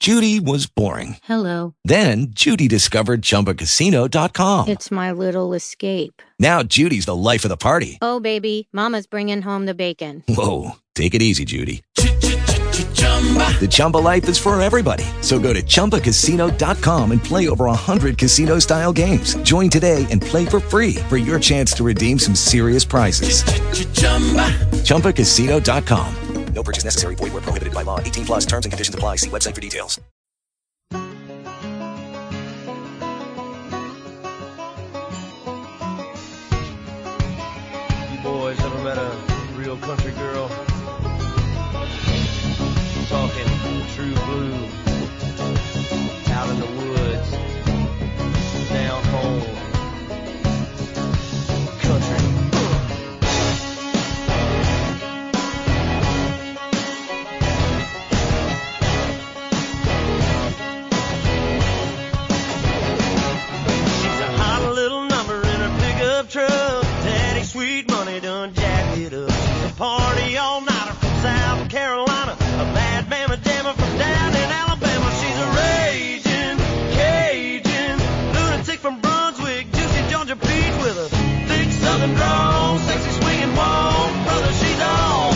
Judy was boring. Hello. Then Judy discovered ChumbaCasino.com. It's my little escape. Now Judy's the life of the party. Oh, baby, mama's bringing home the bacon. Whoa, take it easy, Judy. The Chumba life is for everybody. So go to ChumbaCasino.com and play over 100 casino-style games. Join today and play for free for your chance to redeem some serious prizes. ChumbaCasino.com. No purchase necessary. Void where prohibited by law. 18 plus terms and conditions apply. See website for details. You boys ever met a real country girl? Talking true blue, out in the woods, down home, country. She's a hot little number in her pickup truck. Daddy sweet money done jacked it up. She's a party all nighter from South Carolina. A bad mama jammer from down in Alabama. She's a raging Cajun lunatic from Brunswick, juicy Georgia peach with a thick southern drawl, sexy swinging wall. Brother, she's all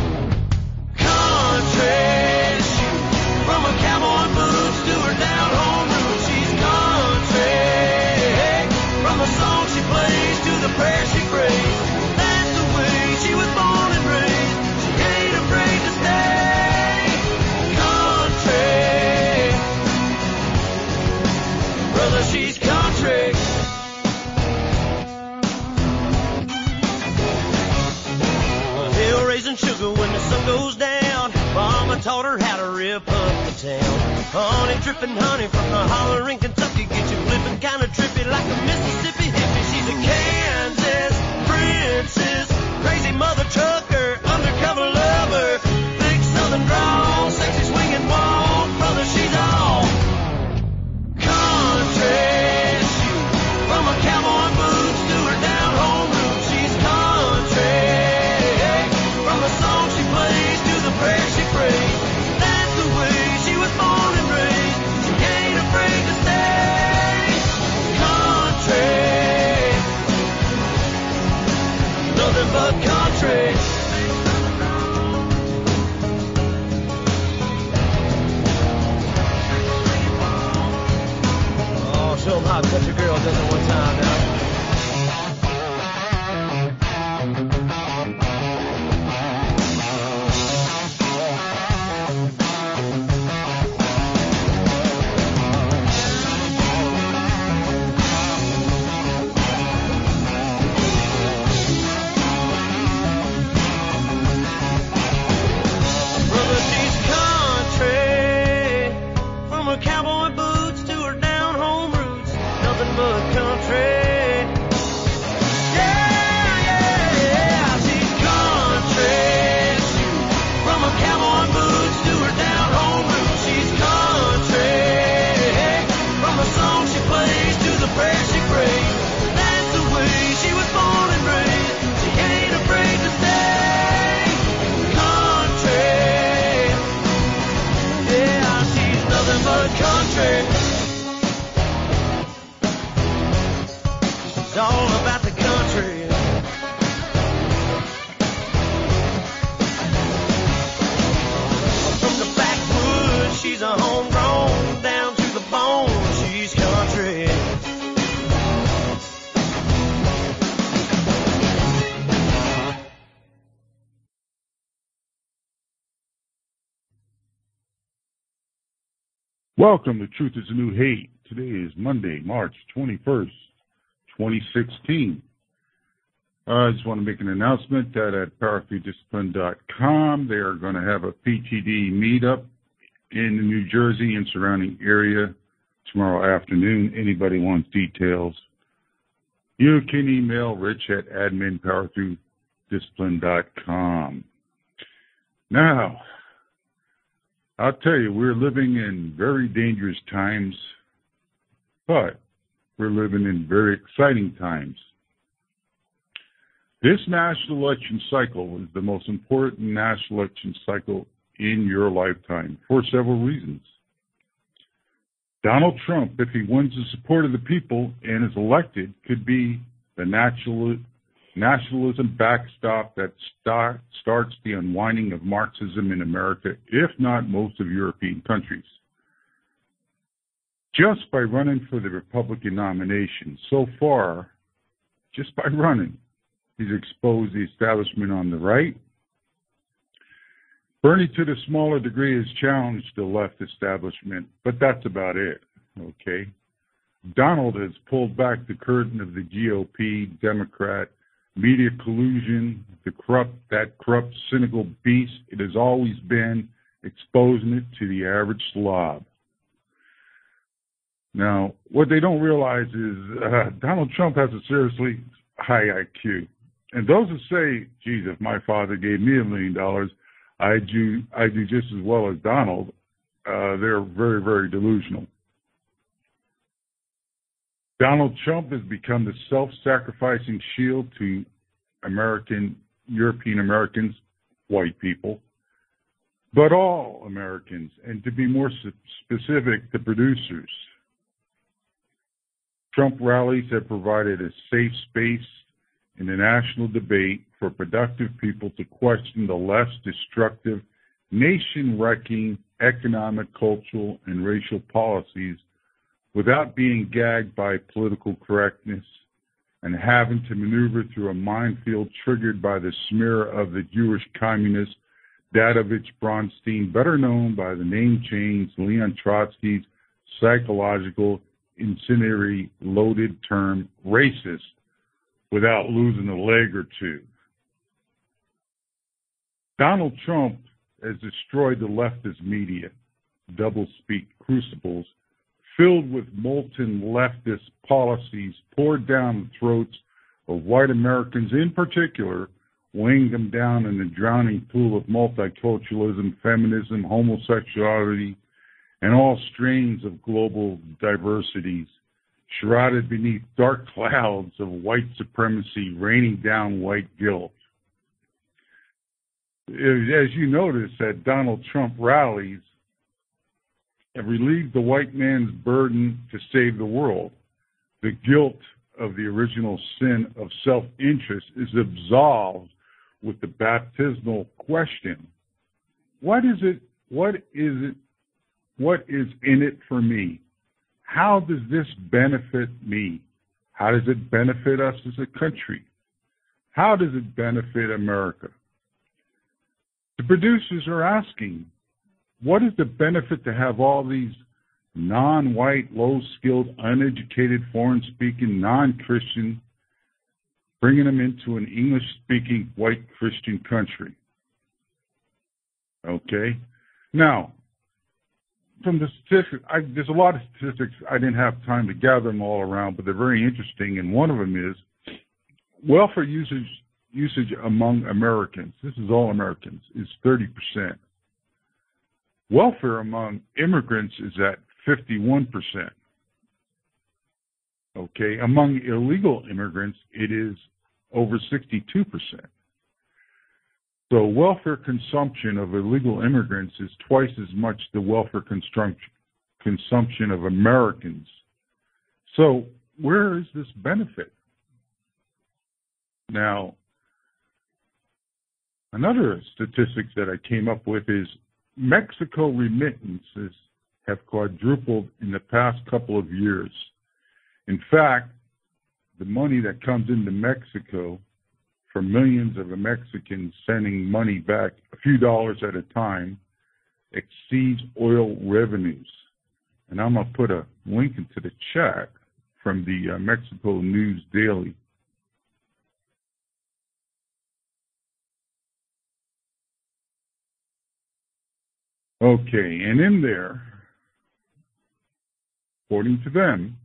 country. Shoot, from her cowboy boots to her down home roots. She's country. From the song she plays to the prayer she prays. That's the way she was born and raised. She ain't afraid to stay country. Brother, she's country. Hill raising sugar when the sun goes down. Mama taught her how to rip up the town. Honey dripping honey from the holler in Kentucky. Get you flipping kind of trippy like a Mississippi hippie. She's a Kansas princess, crazy mother trucker, undercover lover, big southern drawl, sexy swinging wall. Brother, she's all country. Shoot, from her cowboy boots to her down home roots. She's country. From the song she plays to the prayer she prays. That's the way she was born and raised. She ain't afraid to stay country. Nothing but country. Oh, show 'em how a country girl does it one time now. Brother, she's country. From her cowboy boots to her down home roots. Nothing but country. Yeah, yeah, yeah. She's country. Shoot, from her cowboy boots to her down home roots. She's country. From the song she plays to the prayer she prays. That's the way she was born and raised. She ain't afraid to stay country. Yeah, she's nothing but country. She's all about the country. From the backwoods, she's a homegrown, down to the bone. She's country. Welcome to Truth is the New Hate. Today is Monday, March 21st, 2016. I just want to make an announcement that at power3discipline.com they are going to have a PTD meetup in the New Jersey and surrounding area tomorrow afternoon. Anybody wants details, you can email Rich at admin.power3discipline.com. Now, I'll tell you, we're living in very dangerous times, but we're living in very exciting times. This national election cycle is the most important national election cycle in your lifetime for several reasons. Donald Trump, if he wins the support of the people and is elected, could be the nationalism backstop that starts the unwinding of Marxism in America, if not most of European countries. Just by running for the Republican nomination, so far, just by running, he's exposed the establishment on the right. Bernie, to the smaller degree, has challenged the left establishment, but that's about it, okay? Donald has pulled back the curtain of the GOP, Democrat, media collusion, that corrupt, cynical beast it has always been, exposing it to the average slob. Now, what they don't realize is Donald Trump has a seriously high IQ. And those who say, geez, if my father gave me $1 million, I do just as well as Donald, they're very, very delusional. Donald Trump has become the self-sacrificing shield to European Americans, white people, but all Americans, and to be more specific, the producers. Trump rallies have provided a safe space in the national debate for productive people to question the less destructive, nation-wrecking economic, cultural, and racial policies without being gagged by political correctness and having to maneuver through a minefield triggered by the smear of the Jewish communist Dadovich Bronstein, better known by the name change Leon Trotsky's psychological incendiary loaded term racist, without losing a leg or two. Donald Trump has destroyed the leftist media, doublespeak crucibles, filled with molten leftist policies poured down the throats of white Americans in particular, weighing them down in the drowning pool of multiculturalism, feminism, homosexuality, and all strains of global diversities, shrouded beneath dark clouds of white supremacy raining down white guilt. As you notice at Donald Trump rallies, have relieved the white man's burden to save the world. The guilt of the original sin of self-interest is absolved with the baptismal question, what is in it for me? How does this benefit me? How does it benefit us as a country? How does it benefit America? The producers are asking, what is the benefit to have all these non-white, low-skilled, uneducated, foreign-speaking, non-Christian, bringing them into an English-speaking white Christian country? Okay? Now, from the statistics, there's a lot of statistics. I didn't have time to gather them all around, but they're very interesting, and one of them is welfare usage among Americans, this is all Americans, is 30%. Welfare among immigrants is at 51%. Okay, among illegal immigrants, it is over 62%. So welfare consumption of illegal immigrants is twice as much the welfare consumption of Americans. So where is this benefit? Now, another statistics that I came up with is Mexico remittances have quadrupled in the past couple of years. In fact, the money that comes into Mexico for millions of Mexicans sending money back a few dollars at a time exceeds oil revenues. And I'm going to put a link into the chat from the Mexico News Daily. Okay, and in there, according to them,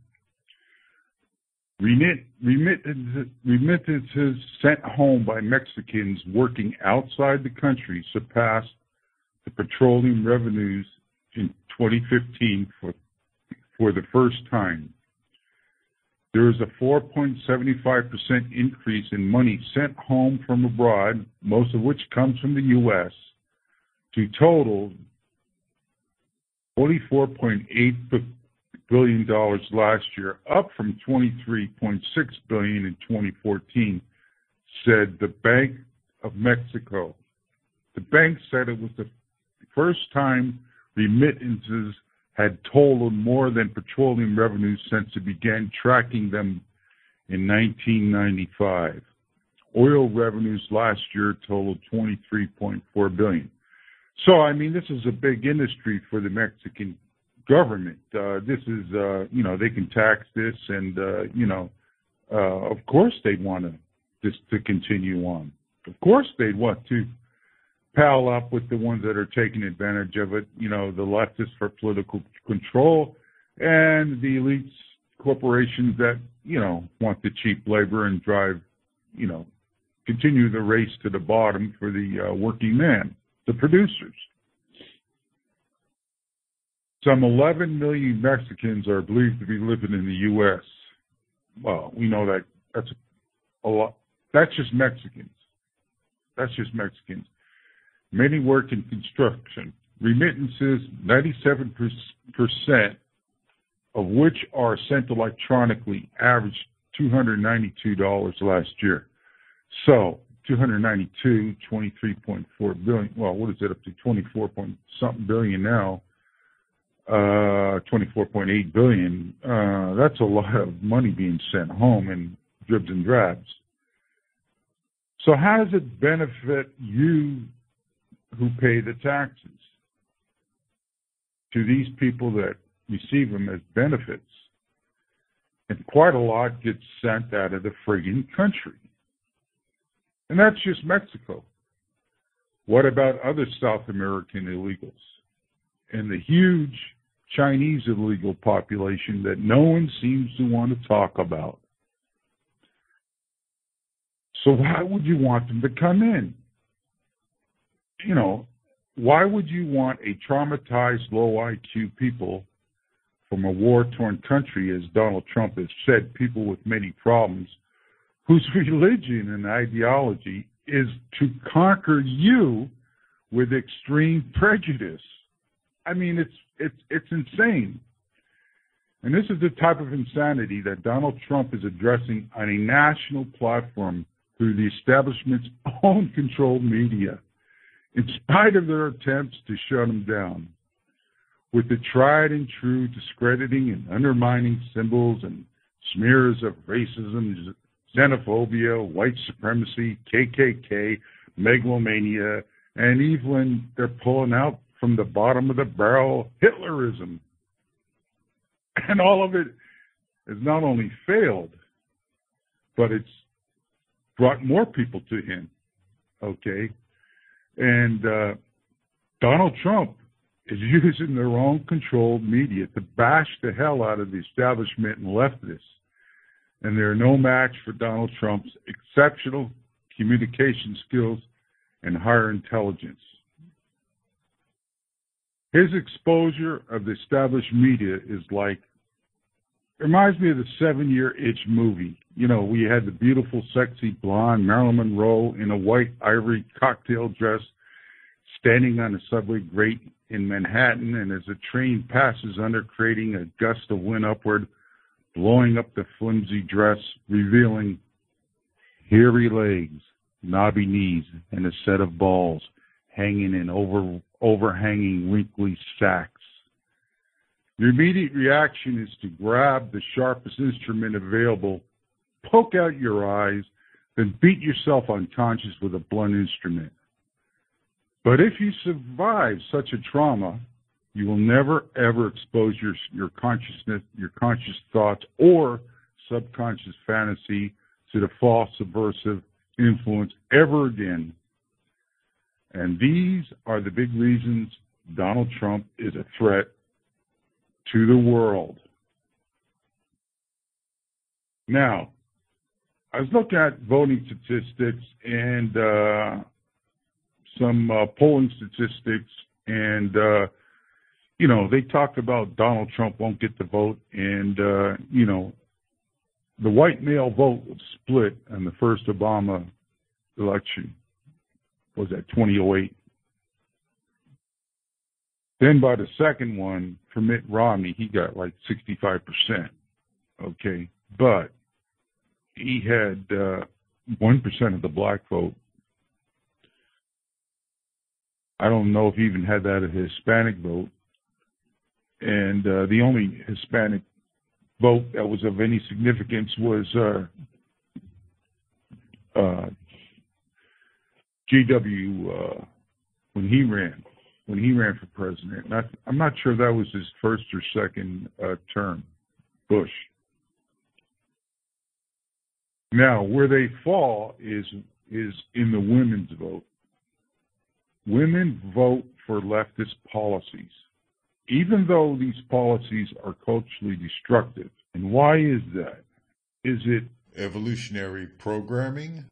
remittances sent home by Mexicans working outside the country surpassed the petroleum revenues in 2015 for the first time. There is a 4.75% increase in money sent home from abroad, most of which comes from the U.S., to total $44.8 billion last year, up from $23.6 billion in 2014, said the Bank of Mexico. The bank said it was the first time remittances had totaled more than petroleum revenues since it began tracking them in 1995. Oil revenues last year totaled $23.4 billion. So, I mean, this is a big industry for the Mexican government. This is, they can tax this, and, of course they'd want this to continue on. Of course they'd want to pal up with the ones that are taking advantage of it, the leftists for political control, and the elites, corporations that, want the cheap labor and drive, continue the race to the bottom for the working man, the producers. Some 11 million Mexicans are believed to be living in the U.S. Well, we know that that's a lot. That's just Mexicans. Many work in construction. Remittances, 97% of which are sent electronically, averaged $292 last year. So, 292, 23.4 billion. Well, what is it, up to 24-point-something billion now? 24.8 billion. That's a lot of money being sent home in dribs and drabs. So how does it benefit you who pay the taxes? To these people that receive them as benefits. And quite a lot gets sent out of the friggin' country. And that's just Mexico. What about other South American illegals? And the huge Chinese illegal population that no one seems to want to talk about. So why would you want them to come in? Why would you want a traumatized, low IQ people from a war-torn country, as Donald Trump has said, people with many problems, whose religion and ideology is to conquer you with extreme prejudice? I mean, it's insane. And this is the type of insanity that Donald Trump is addressing on a national platform through the establishment's own controlled media, in spite of their attempts to shut him down, with the tried and true discrediting and undermining symbols and smears of racism, xenophobia, white supremacy, KKK, megalomania, and even they're pulling out from the bottom of the barrel Hitlerism. And all of it has not only failed, but it's brought more people to him, okay? And Donald Trump is using their own controlled media to bash the hell out of the establishment and leftists. And they're no match for Donald Trump's exceptional communication skills and higher intelligence. His exposure of the established media is reminds me of the 7-Year Itch movie. We had the beautiful, sexy, blonde Marilyn Monroe in a white ivory cocktail dress standing on a subway grate in Manhattan, and as a train passes under, creating a gust of wind upward, blowing up the flimsy dress, revealing hairy legs, knobby knees, and a set of balls hanging in overhanging wrinkly sacks. Your immediate reaction is to grab the sharpest instrument available, poke out your eyes, then beat yourself unconscious with a blunt instrument. But if you survive such a trauma, you will never, ever expose your consciousness, your conscious thoughts, or subconscious fantasy to the false subversive influence ever again. And these are the big reasons Donald Trump is a threat to the world. Now, I was looking at voting statistics and some polling statistics, and they talked about Donald Trump won't get the vote, and the white male vote was split in the first Obama election. Was that 2008? Then by the second one, for Mitt Romney, he got like 65%. Okay. But he had 1% of the black vote. I don't know if he even had that of the Hispanic vote. And the only Hispanic vote that was of any significance was G.W. When he ran for president. I'm not sure that was his first or second term, Bush. Now, where they fall is in the women's vote. Women vote for leftist policies, even though these policies are culturally destructive. And why is that? Is it evolutionary programming?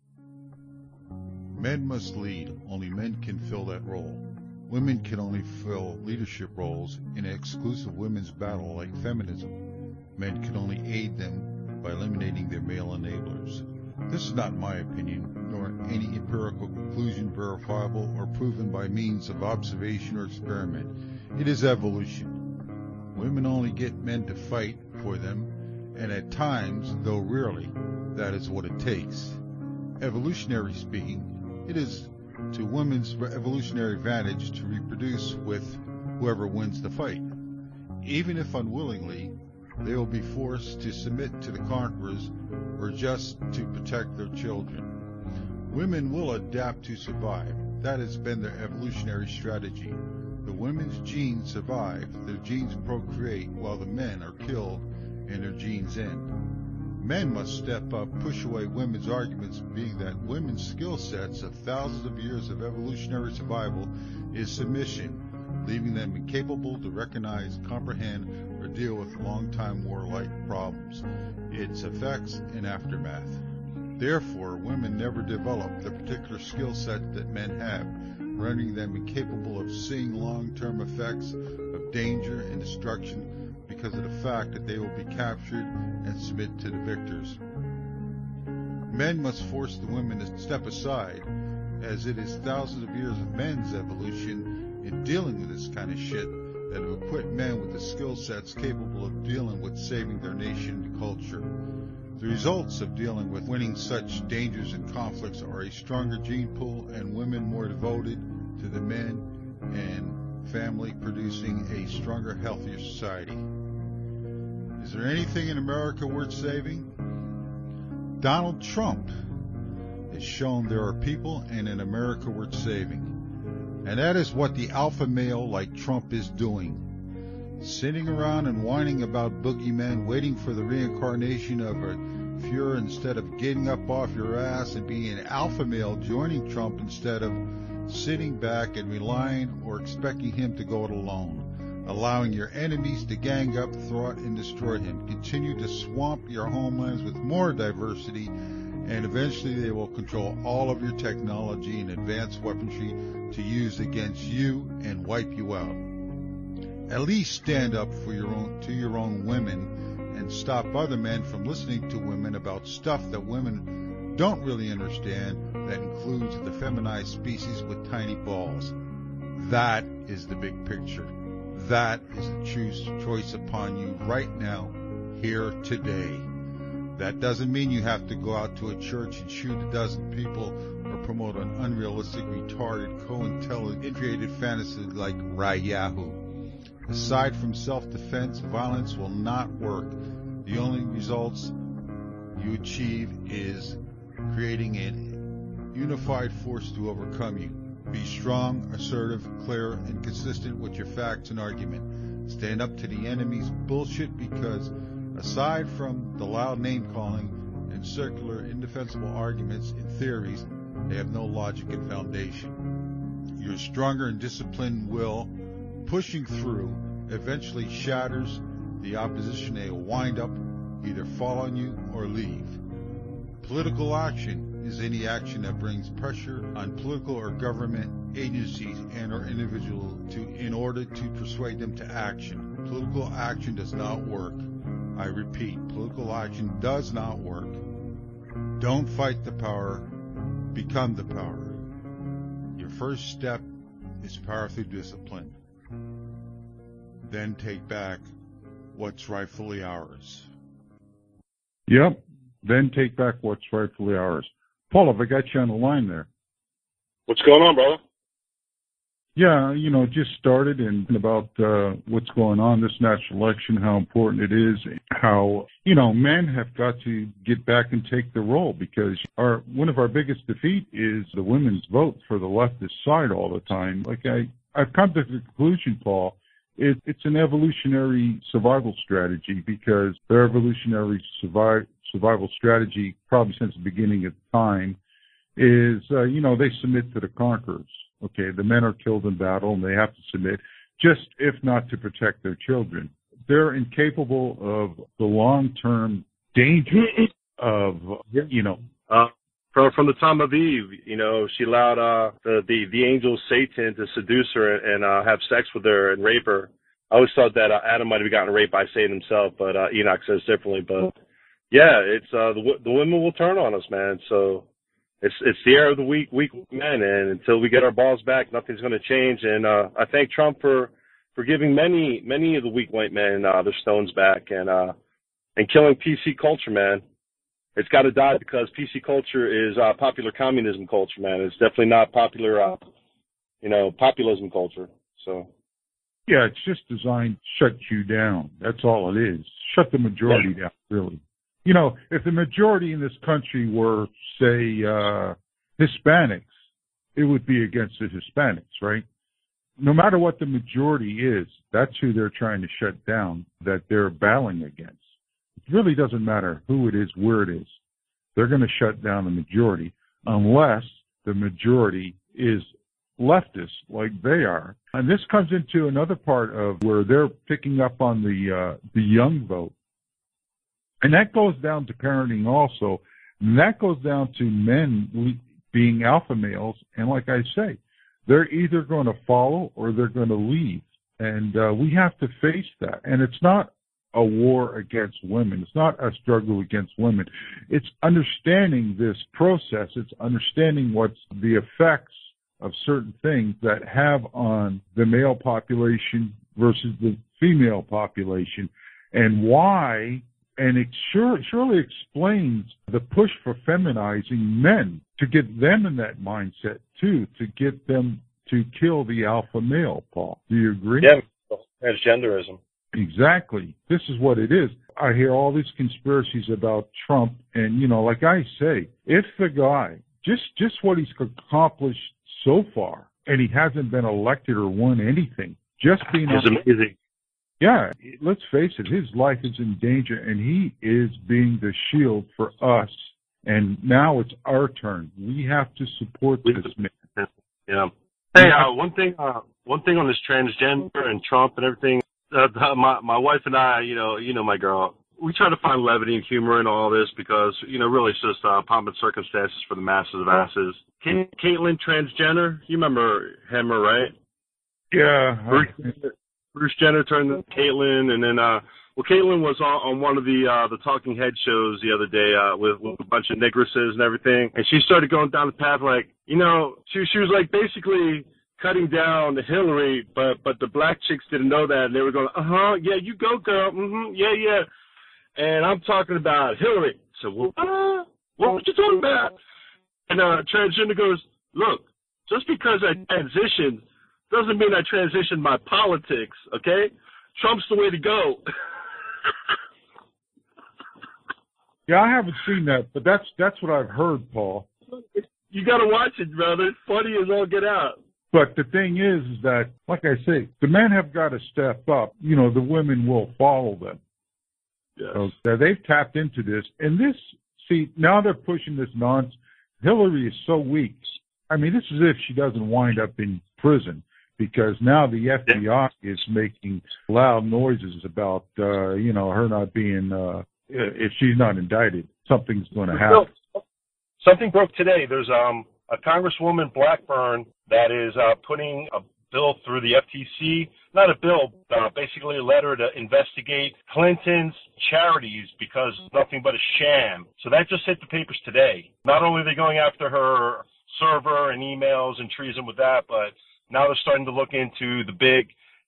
Men must lead. Only men can fill that role. Women can only fill leadership roles in an exclusive women's battle like feminism. Men can only aid them by eliminating their male enablers. This is not my opinion, nor any empirical conclusion verifiable or proven by means of observation or experiment. It is evolution. Women only get men to fight for them, and at times, though rarely, that is what it takes. Evolutionary speaking, it is to women's evolutionary advantage to reproduce with whoever wins the fight. Even if unwillingly, they will be forced to submit to the conquerors or just to protect their children. Women will adapt to survive. That has been their evolutionary strategy. The women's genes survive, their genes procreate, while the men are killed and their genes end. Men must step up, push away women's arguments, being that women's skill sets of thousands of years of evolutionary survival is submission, leaving them incapable to recognize, comprehend, or deal with long-time warlike problems, its effects and aftermath. Therefore, women never develop the particular skill set that men have, rendering them incapable of seeing long-term effects of danger and destruction because of the fact that they will be captured and submit to the victors. Men must force the women to step aside, as it is thousands of years of men's evolution in dealing with this kind of shit that have equipped men with the skill sets capable of dealing with saving their nation and culture. The results of dealing with winning such dangers and conflicts are a stronger gene pool and women more devoted to the men and family, producing a stronger, healthier society. Is there anything in America worth saving? Donald Trump has shown there are people in America worth saving. And that is what the alpha male like Trump is doing. Sitting around and whining about boogeymen, waiting for the reincarnation of a Fuhrer instead of getting up off your ass and being an alpha male joining Trump instead of sitting back and relying or expecting him to go it alone. Allowing your enemies to gang up, thwart, and destroy him. Continue to swamp your homelands with more diversity, and eventually they will control all of your technology and advanced weaponry to use against you and wipe you out. At least stand up for your own women and stop other men from listening to women about stuff that women don't really understand, that includes the feminized species with tiny balls. That is the big picture. That is the choice upon you right now, here, today. That doesn't mean you have to go out to a church and shoot a dozen people or promote an unrealistic, retarded, co-intelligent, created fantasy like Rayahu. Aside from self-defense, violence will not work. The only results you achieve is creating a unified force to overcome you. Be strong, assertive, clear, and consistent with your facts and argument. Stand up to the enemy's bullshit, because aside from the loud name-calling and circular, indefensible arguments and theories, they have no logic and foundation. Your stronger and disciplined will, pushing through, eventually shatters the opposition. They will wind up, either fall on you or leave. Political action is any action that brings pressure on political or government agencies and or individuals in order to persuade them to action. Political action does not work. I repeat, political action does not work. Don't fight the power, become the power. Your first step is power through discipline. then take back what's rightfully ours. Yep. Then take back what's rightfully ours. Paul, have I got you on the line there? What's going on, brother? Yeah, just started and about what's going on this national election, how important it is, how, men have got to get back and take the role because one of our biggest defeat is the women's vote for the leftist side all the time. Like I've come to the conclusion, Paul, it's an evolutionary survival strategy because their evolutionary survival strategy, probably since the beginning of time, is, they submit to the conquerors. Okay, the men are killed in battle and they have to submit, just if not to protect their children. They're incapable of the long-term danger of, From the time of Eve, she allowed the angel Satan to seduce her and have sex with her and rape her. I always thought that Adam might have gotten raped by Satan himself, but Enoch says differently. But yeah, it's the women will turn on us, man. So it's the era of the weak men, and until we get our balls back, nothing's going to change. And I thank Trump for giving many of the weak white men their stones back and killing PC culture, man. It's got to die because PC culture is popular communism culture, man. It's definitely not popular, populism culture. So. Yeah, it's just designed to shut you down. That's all it is. Shut the majority down, really. If the majority in this country were, say, Hispanics, it would be against the Hispanics, right? No matter what the majority is, that's who they're trying to shut down, that they're battling against. It really doesn't matter who it is, where it is. They're going to shut down the majority unless the majority is leftist like they are. And this comes into another part of where they're picking up on the young vote. And that goes down to parenting also. And that goes down to men being alpha males. And like I say, they're either going to follow or they're going to leave. And we have to face that. And it's not a war against women. It's not a struggle against women. It's understanding this process. It's understanding what's the effects of certain things that have on the male population versus the female population and why. And it surely explains the push for feminizing men to get them in that mindset too, to get them to kill the alpha male, Paul. Do you agree? Yeah, transgenderism. Exactly. This is what it is. I hear all these conspiracies about Trump, and, like I say, if the guy, just what he's accomplished so far, and he hasn't been elected or won anything, just being... It's amazing. Yeah, let's face it, his life is in danger, and he is being the shield for us, and now it's our turn. We have to support this man. Yeah. Hey, one thing on this transgender and Trump and everything, my wife and I, my girl, we try to find levity and humor in all this because, really it's just pomp and circumstances for the masses of asses. Caitlyn transgender, you remember him, right? Yeah. Bruce Jenner turned to Caitlyn, and then, Caitlyn was on one of the Talking Head shows the other day with a bunch of nigresses and everything, and she started going down the path like, she was like basically cutting down Hillary, but the black chicks didn't know that, and they were going, yeah, you go, girl, yeah, and I'm talking about Hillary. So, what were you talking about? And transgender goes, look, just because I transitioned doesn't mean I transitioned my politics, okay? Trump's the way to go. Yeah, I haven't seen that, but that's what I've heard, Paul. You got to watch it, brother. It's funny as all get out. But the thing is that, like I say, the men have got to step up. The women will follow them. Yes. So they've tapped into this. And now they're pushing this nonsense. Hillary is so weak. I mean, this is if she doesn't wind up in prison, because now the FBI is making loud noises about, her not being, if she's not indicted, something's going to happen. Something broke today. There's a Congresswoman Blackburn that is putting a bill through the FTC, not a bill, basically a letter to investigate Clinton's charities because nothing but a sham. So that just hit the papers today. Not only are they going after her server and emails and treason with that, but now they're starting to look into the big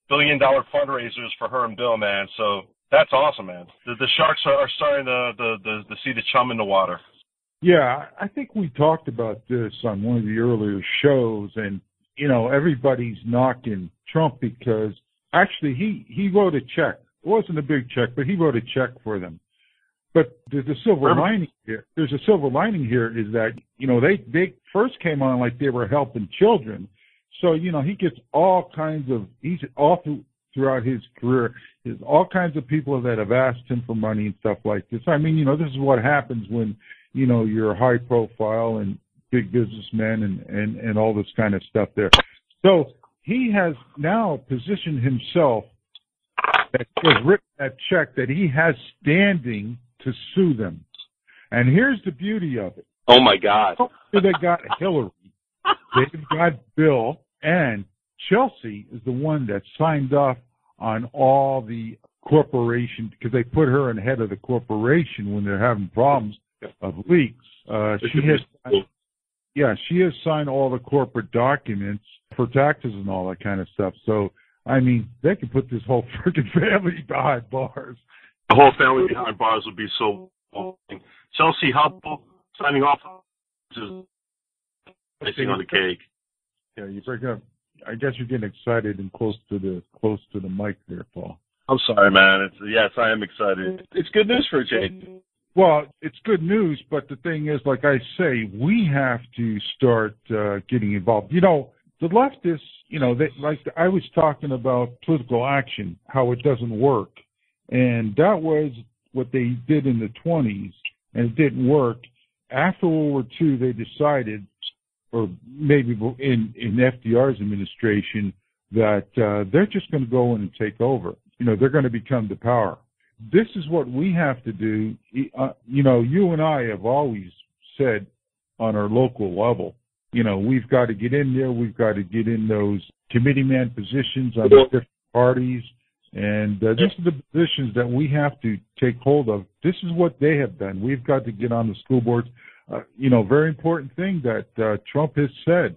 billion-dollar fundraisers for her and Bill, man. So that's awesome, man. The Sharks are starting to see the chum in the water. Yeah, I think we talked about this on one of the earlier shows, and, you know, everybody's knocking Trump because actually he wrote a check. It wasn't a big check, but he wrote a check for them. But there's a silver lining here. There's a silver lining here is that, you know, they first came on like they were helping children. So, you know, he gets all kinds of, throughout his career, there's all kinds of people that have asked him for money and stuff like this. I mean, you know, this is what happens when, you know, you're high profile and big businessmen and all this kind of stuff there. So he has now positioned himself, that has written that check, that he has standing to sue them. And here's the beauty of it. Oh, my God. They got Hillary. They've got Bill. And Chelsea is the one that signed off on all the corporation, because they put her in head of the corporation when they're having problems of leaks. She has signed all the corporate documents for taxes and all that kind of stuff. So, I mean, they could put this whole freaking family behind bars. The whole family behind bars would be so boring. Chelsea Hubble signing off is icing on the cake. Yeah, you break up. I guess you're getting excited and close to the mic there, Paul. I'm sorry, man. Yes, I am excited. It's good news for Jay. Well, it's good news, but the thing is, like I say, we have to start getting involved. You know, the leftists, you know, like I was talking about political action, how it doesn't work. And that was what they did in the 20s, and it didn't work. After World War II, they decided, or maybe in FDR's administration, that they're just going to go in and take over. You know, they're going to become the power. This is what we have to do. You know, you and I have always said on our local level, you know, we've got to get in there. We've got to get in those committeeman positions on the different parties. And these are the positions that we have to take hold of. This is what they have done. We've got to get on the school boards. You know, very important thing that Trump has said.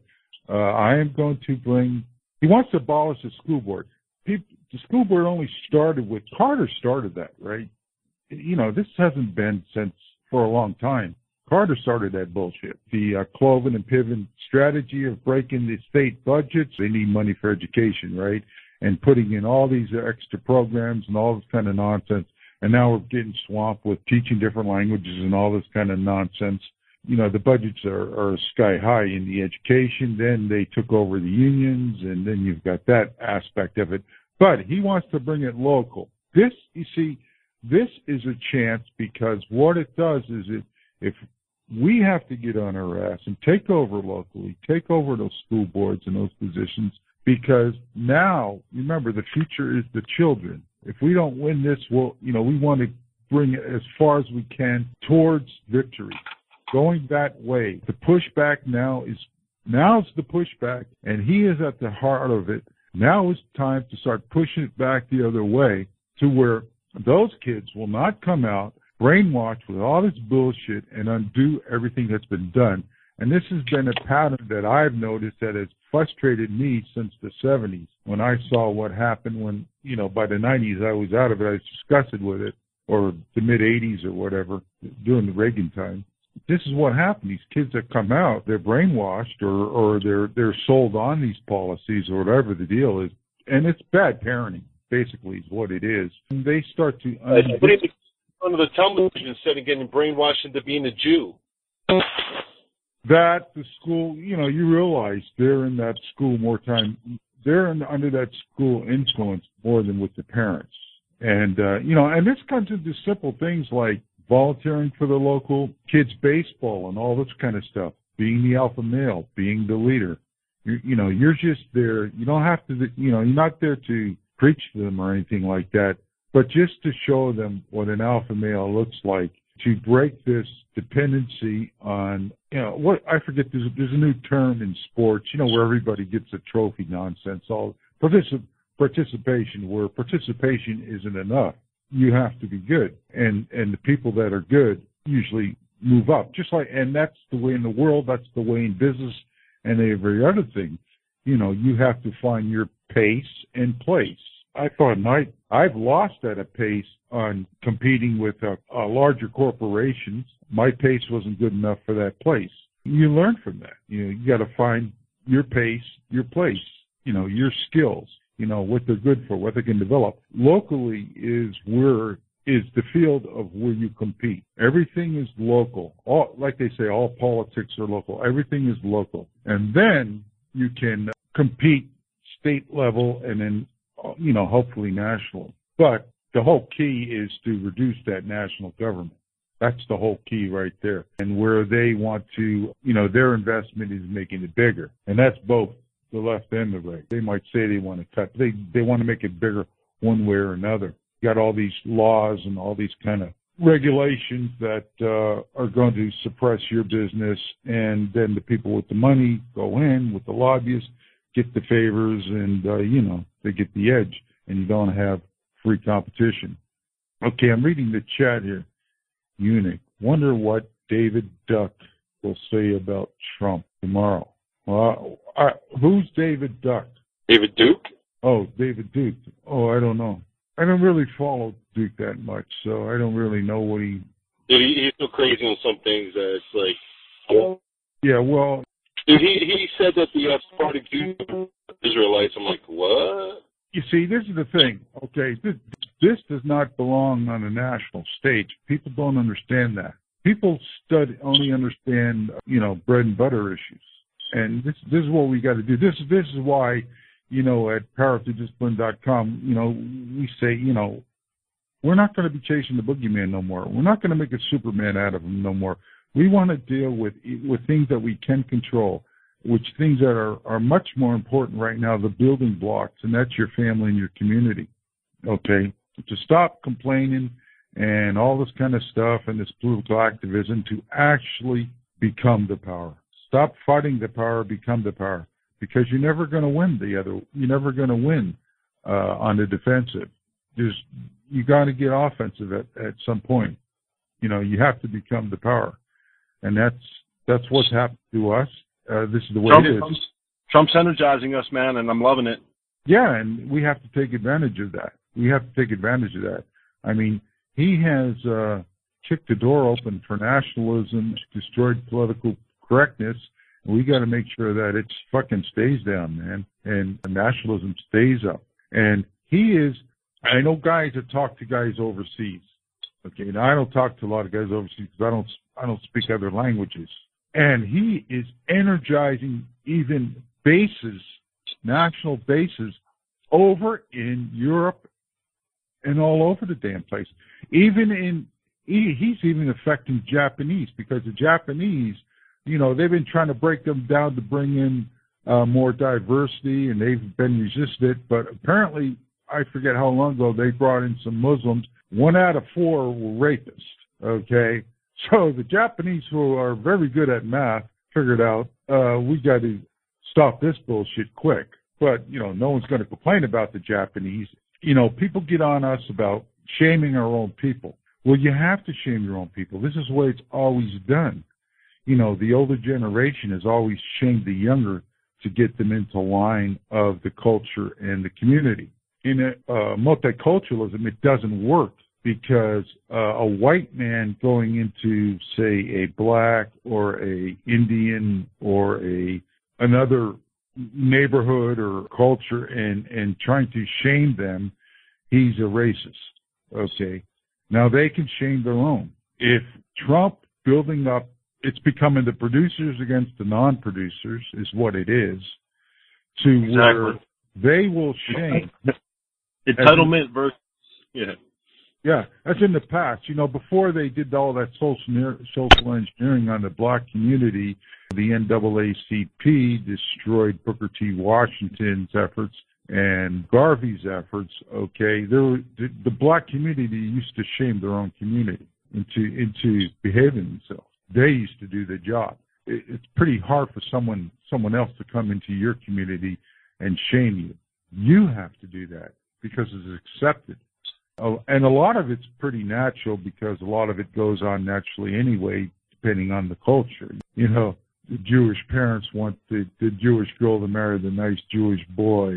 I am going to he wants to abolish the school board. The school board only started with, Carter started that, right? You know, this hasn't been for a long time. Carter started that bullshit. The Cloven and Piven strategy of breaking the state budgets. They need money for education, right? And putting in all these extra programs and all this kind of nonsense. And now we're getting swamped with teaching different languages and all this kind of nonsense. You know, the budgets are sky high in the education. Then they took over the unions, and then you've got that aspect of it. But he wants to bring it local. This, you see, this is a chance, because what it does is if we have to get on our ass and take over locally, take over those school boards and those positions, because now, remember, the future is the children. If we don't win this, we want to bring it as far as we can towards victory. Going that way. The pushback now's the pushback, and he is at the heart of it. Now is time to start pushing it back the other way, to where those kids will not come out brainwashed with all this bullshit and undo everything that's been done. And this has been a pattern that I've noticed that has frustrated me since the 70s, when I saw what happened when, you know, by the 90s I was out of it. I was disgusted with it, or the mid-80s or whatever, during the Reagan time. This is what happened. These kids that come out, they're brainwashed, or they're sold on these policies, or whatever the deal is. And it's bad parenting, basically, is what it is. And they start to putting the under the television instead of getting brainwashed into being a Jew. That the school, you know, you realize they're in that school more time. They're under that school influence more than with the parents. And, you know, and this comes into simple things like volunteering for the local kids' baseball and all this kind of stuff, being the alpha male, being the leader. You know, you're just there. You don't have to, you know, you're not there to preach to them or anything like that, but just to show them what an alpha male looks like, to break this dependency on, you know, what I forget, there's a new term in sports, you know, where everybody gets a trophy nonsense, all participation, where participation isn't enough. You have to be good. And the people that are good usually move up. Just like, and that's the way in the world, that's the way in business and every other thing. You know, you have to find pace and place. I thought I've lost at a pace on competing with larger corporations. My pace wasn't good enough for that place. You learn from that. You got to find your pace, your place, your skills, what they're good for, what they can develop. Locally is the field of where you compete. Everything is local. Like they say, all politics are local. Everything is local. And then you can compete state level and then, hopefully national. But the whole key is to reduce that national government. That's the whole key right there. And where they want to, their investment is making it bigger. And that's both the left and the right. They might say they want to cut. They want to make it bigger one way or another. You got all these laws and all these kind of regulations that are going to suppress your business. And then the people with the money go in with the lobbyists, get the favors, and, they get the edge. And you don't have free competition. Okay, I'm reading the chat here. Eunuch. Wonder what David Duck will say about Trump tomorrow. Who's David Duck? David Duke? Oh, David Duke. Oh, I don't know. I don't really follow Duke that much, so I don't really know what he... Dude, he's so crazy on some things that it's like... Yeah, well... Dude, he said that the Spartan Jews are Israelites. I'm like, what? You see, this is the thing, okay? This does not belong on a national stage. People don't understand that. People only understand, bread and butter issues. And this is what we got to do. This is why, at PowerToDiscipline.com, we say, we're not going to be chasing the boogeyman no more. We're not going to make a Superman out of him no more. We want to deal with things that we can control, which things that are much more important right now, the building blocks, and that's your family and your community. Okay? To stop complaining and all this kind of stuff and this political activism, to actually become the power. Stop fighting the power, become the power. Because you're never going to win you're never going to win on the defensive. You got to get offensive at some point. You have to become the power. And that's what's happened to us. This is the way it is. Trump's energizing us, man, and I'm loving it. Yeah, and we have to take advantage of that. I mean, he has kicked the door open for nationalism, destroyed political correctness. We got to make sure that it fucking stays down, man, and nationalism stays up. And I know guys that talk to guys overseas. Okay, now I don't talk to a lot of guys overseas because I don't speak other languages. And he is energizing even bases, national bases, over in Europe and all over the damn place. He's even affecting Japanese, because the Japanese, they've been trying to break them down to bring in more diversity, and they've been resisted. But apparently, I forget how long ago, they brought in some Muslims. 1 out of 4 were rapists, okay? So the Japanese, who are very good at math, figured out we got to stop this bullshit quick. But, no one's going to complain about the Japanese. People get on us about shaming our own people. Well, you have to shame your own people. This is the way it's always done. The older generation has always shamed the younger to get them into line of the culture and the community. In multiculturalism, it doesn't work, because a white man going into, say, a black or a Indian or another neighborhood or culture and trying to shame them, he's a racist. Okay. Now they can shame their own. If Trump building up, it's becoming the producers against the non-producers is what it is, to where they will shame. Entitlement versus, Yeah, that's in the past. Before they did all that social engineering on the black community, the NAACP destroyed Booker T. Washington's efforts and Garvey's efforts. Okay, the black community used to shame their own community into behaving themselves. They used to do the job. It's pretty hard for someone else to come into your community and shame you. You have to do that because it's accepted. And a lot of it's pretty natural, because a lot of it goes on naturally anyway, depending on the culture. The Jewish parents want the Jewish girl to marry the nice Jewish boy.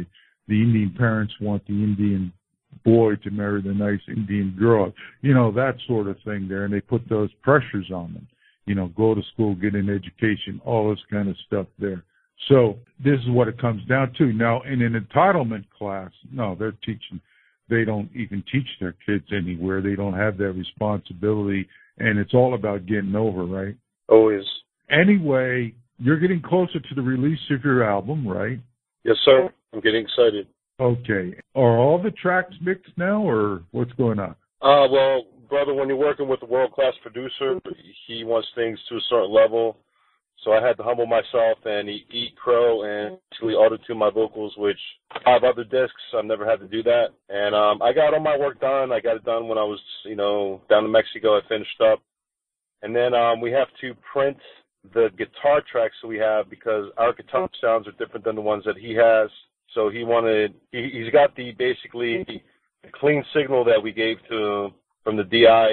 the Indian parents want the Indian boy to marry the nice Indian girl, you know, that sort of thing there, and they put those pressures on them, you know, go to school, get an education, all this kind of stuff there. So this is what it comes down to. Now, in an entitlement class, no, they don't even teach their kids anywhere. They don't have that responsibility, and it's all about getting over, right? Always. Anyway, you're getting closer to the release of your album, right? Yes, sir. I'm getting excited. Okay. Are all the tracks mixed now, or what's going on? Well, brother, when you're working with a world-class producer, he wants things to a certain level. So I had to humble myself and eat crow and actually auto-tune my vocals, which 5 other discs, I've never had to do that. And I got all my work done. I got it done when I was, you know, down in Mexico. I finished up. And then we have to print the guitar tracks that we have because our guitar sounds are different than the ones that he has. So he's got basically the clean signal that we gave to him from the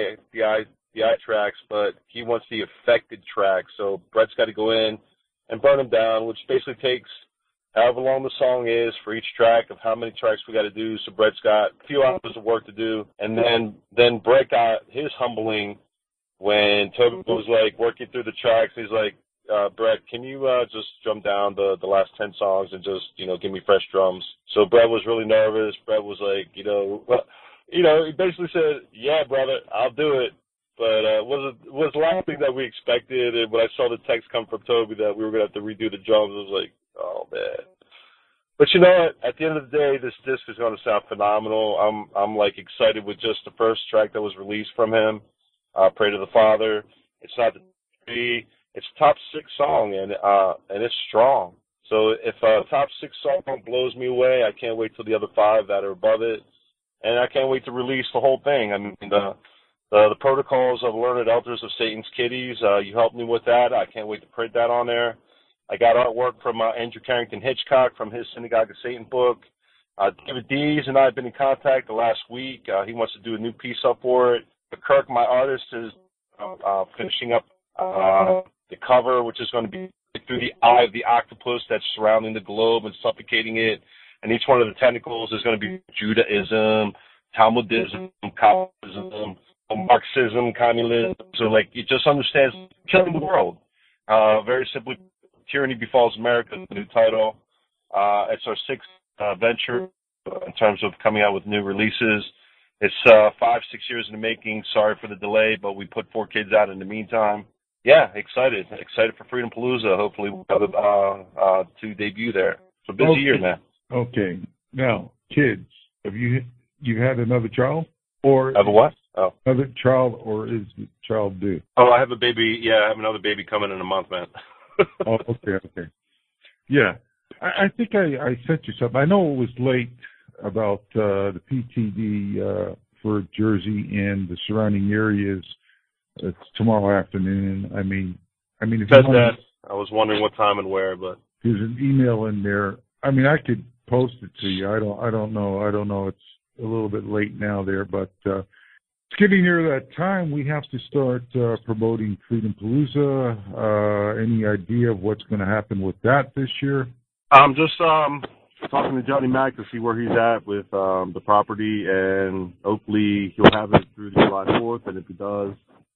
DI tracks, but he wants the affected tracks. So Brett's got to go in and burn them down, which basically takes however long the song is for each track of how many tracks we got to do. So Brett's got a few hours of work to do. And then Brett got his humbling when Toby was like working through the tracks. He's like, Brett, can you just drum down the last 10 songs and just, you know, give me fresh drums? So Brett was really nervous. Brett was like, he basically said, yeah, brother, I'll do it. But it was the last thing that we expected. And when I saw the text come from Toby that we were going to have to redo the drums, I was like, oh, man. But you know what? At the end of the day, this disc is going to sound phenomenal. I'm like excited with just the first track that was released from him, Pray to the Father. It's not the three. It's top 6 song, and it's strong. So if a top 6 song blows me away, I can't wait till the other 5 that are above it. And I can't wait to release the whole thing. I mean, the Protocols of Learned Elders of Satan's Kiddies, you helped me with that. I can't wait to print that on there. I got artwork from Andrew Carrington Hitchcock from his Synagogue of Satan book. David Dees and I have been in contact the last week. He wants to do a new piece up for it. But Kirk, my artist, is finishing up the cover, which is going to be through the eye of the octopus that's surrounding the globe and suffocating it. And each one of the tentacles is going to be Judaism, Talmudism, Calvinism, Marxism, communism. So, like, it just understands killing the world. Very simply, Tyranny Befalls America is the new title. It's our 6th venture in terms of coming out with new releases. It's 5-6 years in the making. Sorry for the delay, but we put 4 kids out in the meantime. Yeah, excited for Freedom Palooza. Hopefully we'll have it to debut there. It's a busy year, man. Okay. Now, kids, have you had another child? Or have a what? Oh. Another child, or is the child due? Oh, I have a baby. Yeah, I have another baby coming in a month, man. Oh, okay. Yeah. I think I sent you something. I know it was late about the PTD for Jersey and the surrounding areas. It's tomorrow afternoon. I mean, if said that. I was wondering what time and where, but there's an email in there. I mean, I could post it to you. I don't know. It's a little bit late now there, but it's getting near that time. We have to start promoting Freedom Palooza. Any idea of what's going to happen with that this year? I'm just talking to Johnny Mac to see where he's at with the property, and hopefully he'll have it through the July 4th. And if he does,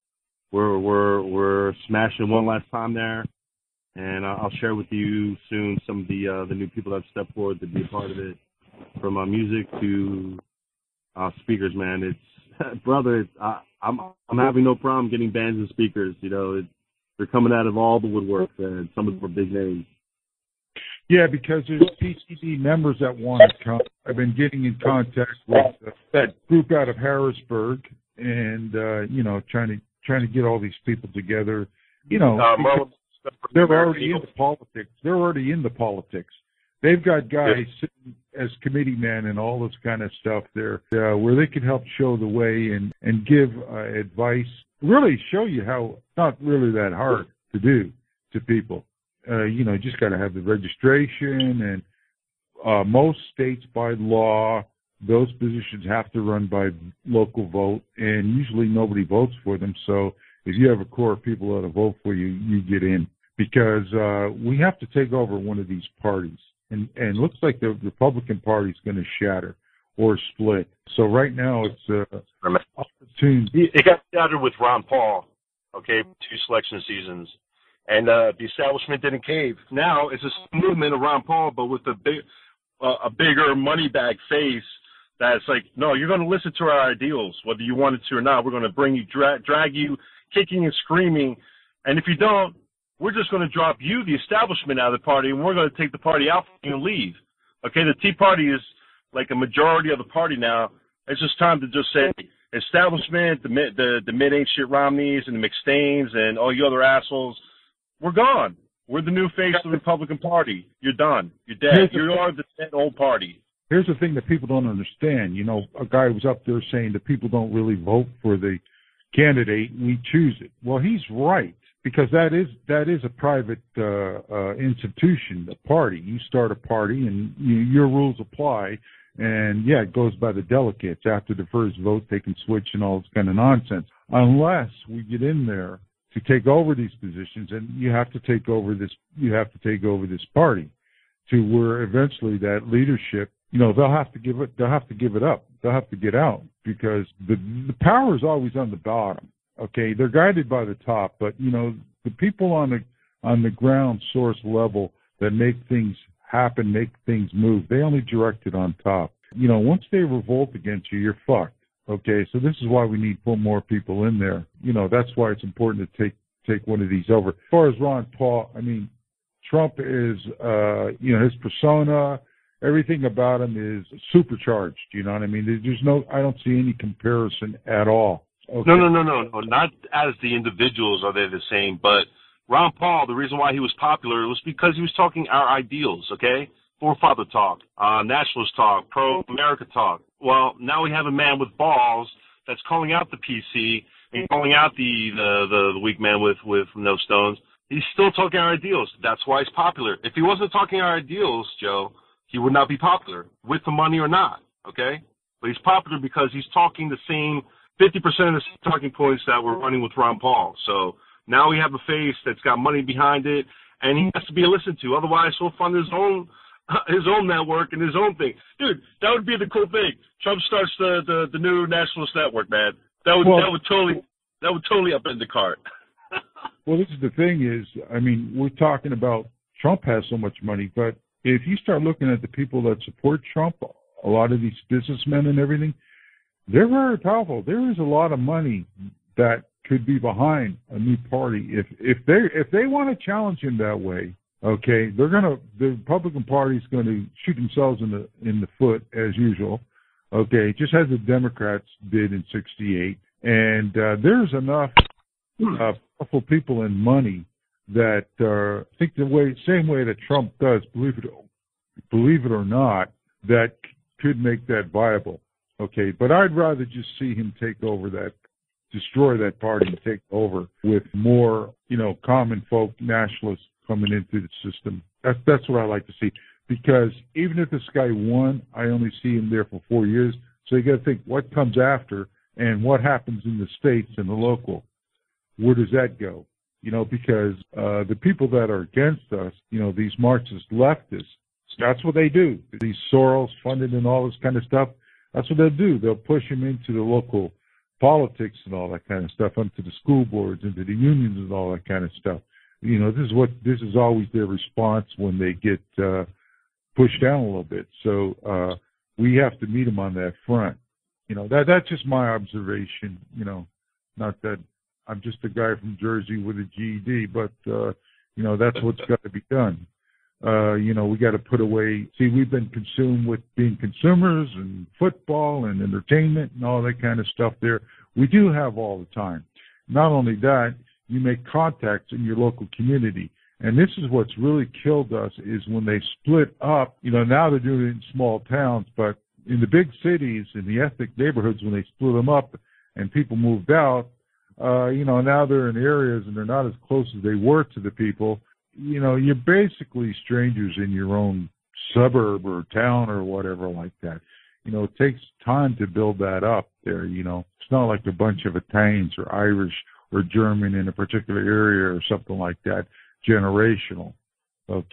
we're smashing one last time there. And I'll share with you soon some of the new people that have stepped forward to be a part of it, from music to speakers. Man, it's brother. I'm having no problem getting bands and speakers. You know, they're coming out of all the woodwork, and some of them are big names. Yeah, because there's PCD members that want to come. I've been getting in contact with that group out of Harrisburg, and trying to get all these people together. You know, they're already in the politics. They're already in the politics. They've got guys sitting as committee men and all this kind of stuff there, where they can help show the way and give advice. Really show you how it's not really that hard to do to people. Just got to have the registration, and most states by law, those positions have to run by local vote, and usually nobody votes for them. So if you have a core of people that vote for you, you get in, because we have to take over one of these parties. and looks like the Republican Party is going to shatter or split. So right now it's opportune. It got shattered with Ron Paul, okay, 2 selection seasons, and the establishment didn't cave. Now it's a movement of Ron Paul, but with a bigger money bag face. That's like, no, you're going to listen to our ideals, whether you wanted to or not. We're going to bring you, drag you, kicking and screaming, and if you don't, we're just going to drop you, the establishment, out of the party, and we're going to take the party out and you and leave. Okay, the Tea Party is like a majority of the party now. It's just time to just say, establishment, the mid-ain't-shit Romneys and the McStains and all you other assholes, we're gone. We're the new face of the Republican Party. You're done. You're dead. You are the dead old party. Here's the thing that people don't understand. You know, a guy was up there saying that people don't really vote for the candidate, we choose it. Well, he's right, because that is a private institution, a party. You start a party and your rules apply, and yeah, it goes by the delegates. After the first vote, they can switch and all this kind of nonsense. Unless we get in there to take over these positions, and you have to take over this party to where eventually that leadership, you know, they'll have to give it up. They'll have to get out, because the power is always on the bottom. Okay, they're guided by the top, but you know, the people on the ground source level that make things happen, make things move, they only direct it on top. You know, once they revolt against you, you're fucked. Okay, so this is why we need to put more people in there. You know, that's why it's important to take one of these over. As far as Ron Paul, I mean, Trump is, you know, his persona, everything about him is supercharged. You know what I mean? I don't see any comparison at all. Okay. No. Not as the individuals are they the same, but Ron Paul, the reason why he was popular was because he was talking our ideals, okay? Forefather talk, nationalist talk, pro-America talk. Well, now we have a man with balls that's calling out the PC and calling out the weak man with no stones. He's still talking our ideals. That's why he's popular. If he wasn't talking our ideals, Joe, he would not be popular, with the money or not, okay? But he's popular because he's talking the same 50% of the talking points that we're running with Ron Paul. So now we have a face that's got money behind it, and he has to be listened to. Otherwise, he'll fund his own network and his own thing. Dude, that would be the cool thing. Trump starts the new nationalist network, man. That would totally upend the cart. Well, this is the thing is, I mean, we're talking about Trump has so much money, but if you start looking at the people that support Trump, a lot of these businessmen and everything, they're very powerful. There is a lot of money that could be behind a new party if they want to challenge him that way. Okay, the Republican Party is going to shoot themselves in the foot as usual. Okay, just as the Democrats did in '68, and there's enough powerful people and money that think same way that Trump does, believe it or not, that could make that viable. Okay, but I'd rather just see him destroy that party and take over with more, you know, common folk nationalists coming into the system. That's what I like to see, because even if this guy won, I only see him there for 4 years. So you got to think what comes after and what happens in the states and the local. Where does that go? You know, because the people that are against us, you know, these Marxist leftists, that's what they do. These Soros funded and all this kind of stuff, that's what they'll do. They'll push them into the local politics and all that kind of stuff, into the school boards, into the unions and all that kind of stuff. You know, this is always their response when they get pushed down a little bit. So we have to meet them on that front. You know, that's just my observation. You know, not that I'm just a guy from Jersey with a GED, but you know, that's what's got to be done. You know, we got to put away. See, we've been consumed with being consumers and football and entertainment and all that kind of stuff there. We do have all the time. Not only that, you make contacts in your local community. And this is what's really killed us is when they split up. You know, now they're doing it in small towns, but in the big cities, in the ethnic neighborhoods, when they split them up and people moved out, you know, now they're in areas and they're not as close as they were to the people. You know, you're basically strangers in your own suburb or town or whatever like that. You know, it takes time to build that up there, you know. It's not like a bunch of Italians or Irish or German in a particular area or something like that, generational. Okay.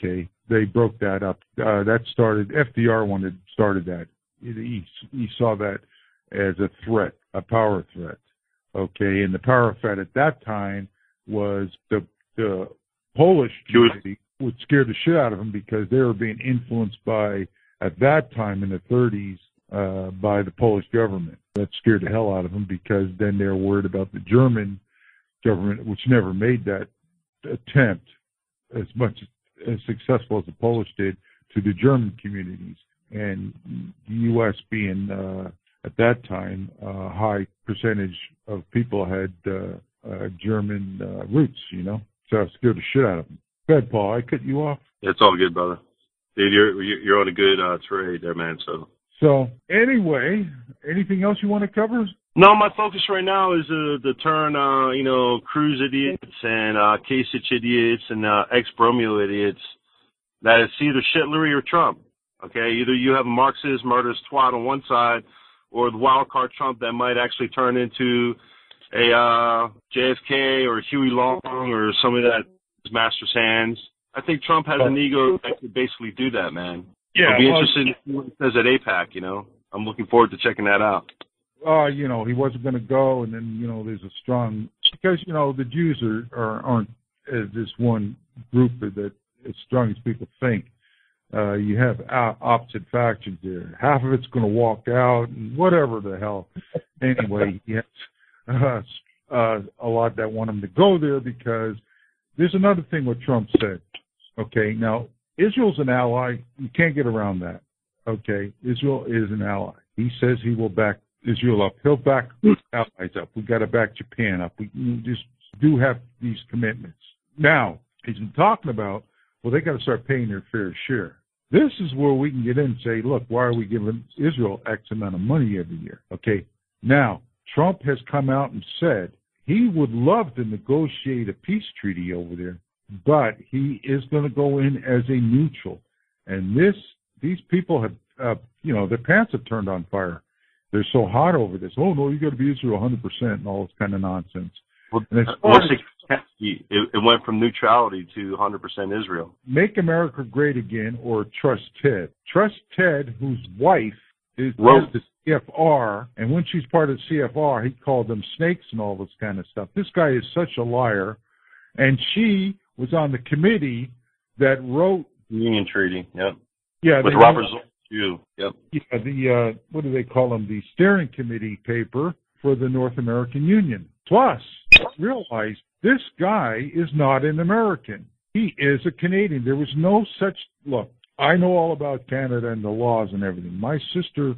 they broke that up. That started, FDR started that. He saw that as a threat, a power threat. Okay, and the power threat at that time was the Polish community, which scared the shit out of them because they were being influenced by, at that time in the 30s, by the Polish government. That scared the hell out of them because then they were worried about the German government, which never made that attempt as much as successful as the Polish did to the German communities. And the U.S. being, at that time, a high percentage of people had German roots, you know. So it scared the shit out of them. Go ahead, Paul. I cut you off. It's all good, brother. Dude, you're on a good trade there, man. So anyway, anything else you want to cover? No, my focus right now is the turn, Cruz idiots and Kasich idiots and ex-Bromeo idiots. That it's either Shitlery or Trump. Okay, either you have a Marxist, murderous twat on one side, or the wild card Trump that might actually turn into a JFK or Huey Long or somebody that is master's hands. I think Trump has an ego that could basically do that, man. Yeah, I'll be interested in what it says at AIPAC, you know. I'm looking forward to checking that out. He wasn't going to go, and then, there's a strong, because, the Jews aren't this one group that as strong as people think. You have opposite factions there. Half of it's going to walk out, and whatever the hell. Anyway, yes, a lot that want him to go there because there's another thing what Trump said. Okay, now, Israel's an ally. You can't get around that. Okay, Israel is an ally. He says he will back Israel up. He'll back allies up. We've got to back Japan up. We just do have these commitments. Now, he's been talking about, well, they got to start paying their fair share. This is where we can get in and say, look, why are we giving Israel X amount of money every year? Okay, now, Trump has come out and said he would love to negotiate a peace treaty over there, but he is going to go in as a neutral. And these people have, their pants have turned on fire. They're so hot over this. Oh, no, you got to be Israel 100% and all this kind of nonsense. Well, it went from neutrality to 100% Israel. Make America Great Again or Trust Ted. Trust Ted, whose wife is the CFR, and when she's part of CFR, he called them snakes and all this kind of stuff. This guy is such a liar, and she was on the committee that wrote the Union Treaty. Yep. Yeah, with Robert Zoll. Yep. Yeah, what do they call them? The steering committee paper for the North American Union. Plus, realize this guy is not an American. He is a Canadian. There was no such look. I know all about Canada and the laws and everything. My sister,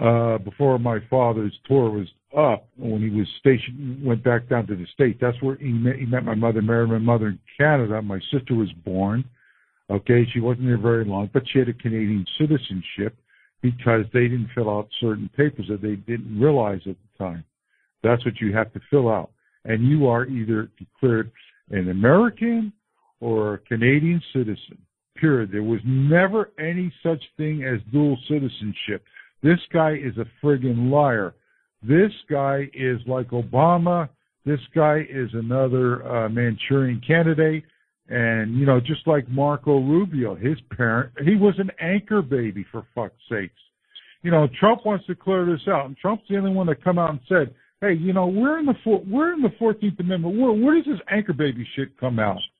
before my father's tour was up, when he was stationed, went back down to the States. That's where he met my mother, married my mother in Canada. My sister was born. Okay, she wasn't there very long, but she had a Canadian citizenship because they didn't fill out certain papers that they didn't realize at the time. That's what you have to fill out. And you are either declared an American or a Canadian citizen, period. There was never any such thing as dual citizenship. This guy is a friggin' liar. This guy is like Obama. This guy is another Manchurian candidate. And, just like Marco Rubio, his parent, he was an anchor baby, for fuck's sakes. Trump wants to clear this out. And Trump's the only one that come out and said, hey, we're in the 14th Amendment. Where does this anchor baby shit come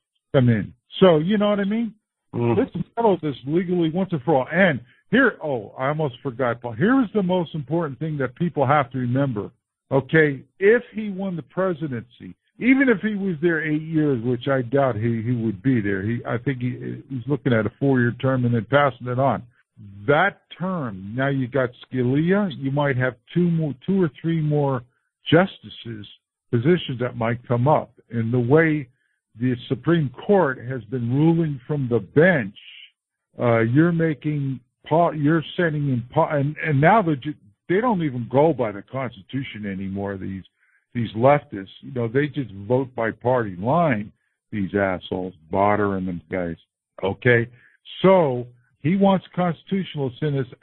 in? So, you know what I mean? Let's settle this legally once and for all. And here, I almost forgot, Paul. Here is the most important thing that people have to remember. Okay, if he won the presidency, even if he was there 8 years, which I doubt he would be there, I think he's looking at a 4-year term and then passing it on. That term, now you got Scalia, you might have two or three more justices, positions that might come up. And the way the Supreme Court has been ruling from the bench, you're setting in, and now they don't even go by the Constitution anymore, these leftists. They just vote by party line, these assholes, Botter and them guys. Okay? So he wants constitutionalists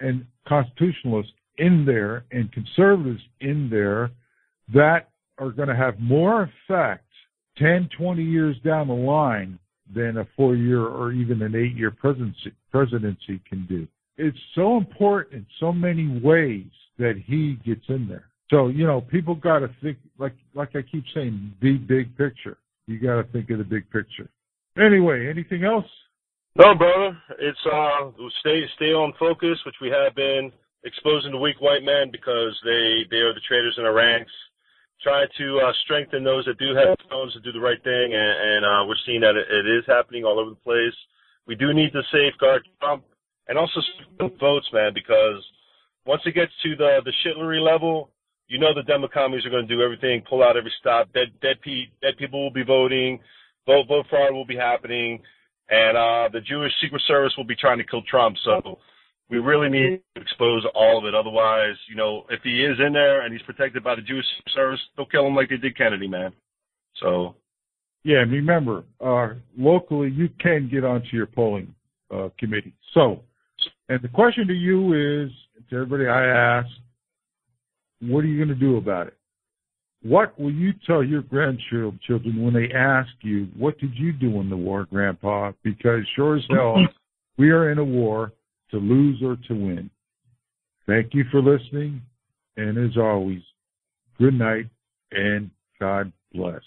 in there and conservatives in there that are going to have more effect 10, 20 years down the line than a 4-year or even an 8-year presidency can do. It's so important in so many ways that he gets in there. So, people got to think, like I keep saying, the big picture. You got to think of the big picture. Anyway, anything else? No, brother. It's stay on focus, which we have been exposing the weak white men because they are the traitors in our ranks. Try to strengthen those that do have phones to do the right thing, and we're seeing that it is happening all over the place. We do need to safeguard Trump and also votes, man, because once it gets to the shitlery level, the Demo commies are going to do everything, pull out every stop. Dead people will be voting. Vote fraud will be happening, and the Jewish Secret Service will be trying to kill Trump. So we really need to expose all of it. Otherwise, if he is in there and he's protected by the Jewish Secret Service, they'll kill him like they did Kennedy, man. So. Yeah, remember, locally you can get onto your polling committee. So, and the question to you is, to everybody I ask, what are you going to do about it? What will you tell your grandchildren when they ask you, what did you do in the war, Grandpa? Because sure as hell, we are in a war to lose or to win. Thank you for listening, and as always, good night and God bless.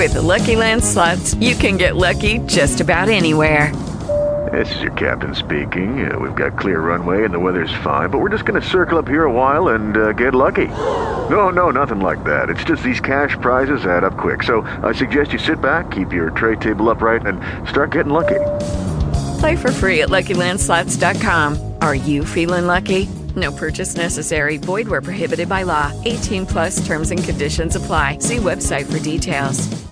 With the Lucky Land Slots, you can get lucky just about anywhere. This is your captain speaking. We've got clear runway and the weather's fine, but we're just going to circle up here a while and get lucky. No, nothing like that. It's just these cash prizes add up quick. So I suggest you sit back, keep your tray table upright, and start getting lucky. Play for free at LuckyLandSlots.com. Are you feeling lucky? No purchase necessary. Void where prohibited by law. 18+ terms and conditions apply. See website for details.